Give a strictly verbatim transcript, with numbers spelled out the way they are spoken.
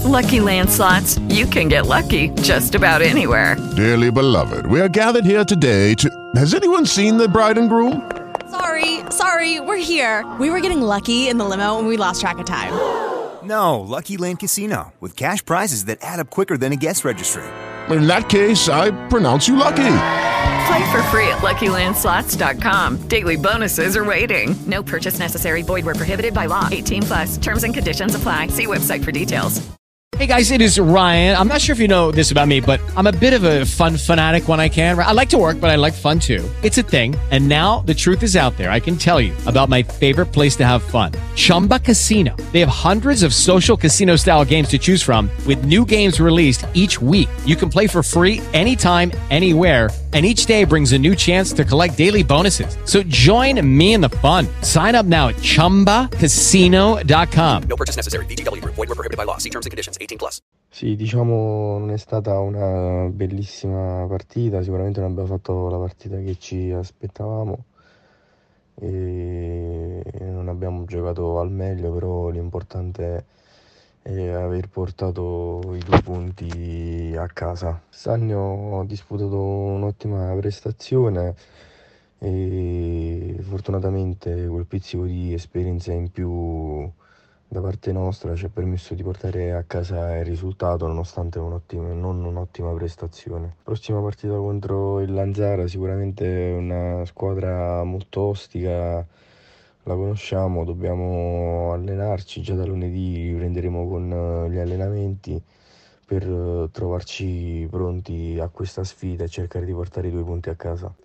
Lucky Land Slots, you can get lucky just about anywhere. Dearly beloved, we are gathered here today to... Has anyone seen the bride and groom? Sorry, sorry, we're here. We were getting lucky in the limo and we lost track of time. No, Lucky Land Casino, with cash prizes that add up quicker than a guest registry. In that case, I pronounce you lucky. Play for free at Lucky Land Slots dot com. Daily bonuses are waiting. No purchase necessary. Void where prohibited by law. eighteen plus. Terms and conditions apply. See website for details. Hey guys, it is Ryan. I'm not sure if you know this about me, but I'm a bit of a fun fanatic when I can. I like to work, but I like fun too. It's a thing. And now the truth is out there. I can tell you about my favorite place to have fun. Chumba Casino. They have hundreds of social casino style games to choose from with new games released each week. You can play for free anytime, anywhere. And each day brings a new chance to collect daily bonuses. So join me in the fun. Sign up now at chumba casino dot com. No purchase necessary. V G W Group. Void where prohibited by law. See terms and conditions. eighteen plus. Sì, diciamo non è stata una bellissima partita, sicuramente non abbiamo fatto la partita che ci aspettavamo e non abbiamo giocato al meglio, però l'importante è aver portato i due punti a casa. Sannio ha disputato un'ottima prestazione e fortunatamente quel pizzico di esperienza in più da parte nostra ci ha permesso di portare a casa il risultato nonostante un'ottima, non un'ottima prestazione. Prossima partita contro il Lanzara, sicuramente una squadra molto ostica, la conosciamo, dobbiamo allenarci, già da lunedì riprenderemo con gli allenamenti per trovarci pronti a questa sfida e cercare di portare i due punti a casa.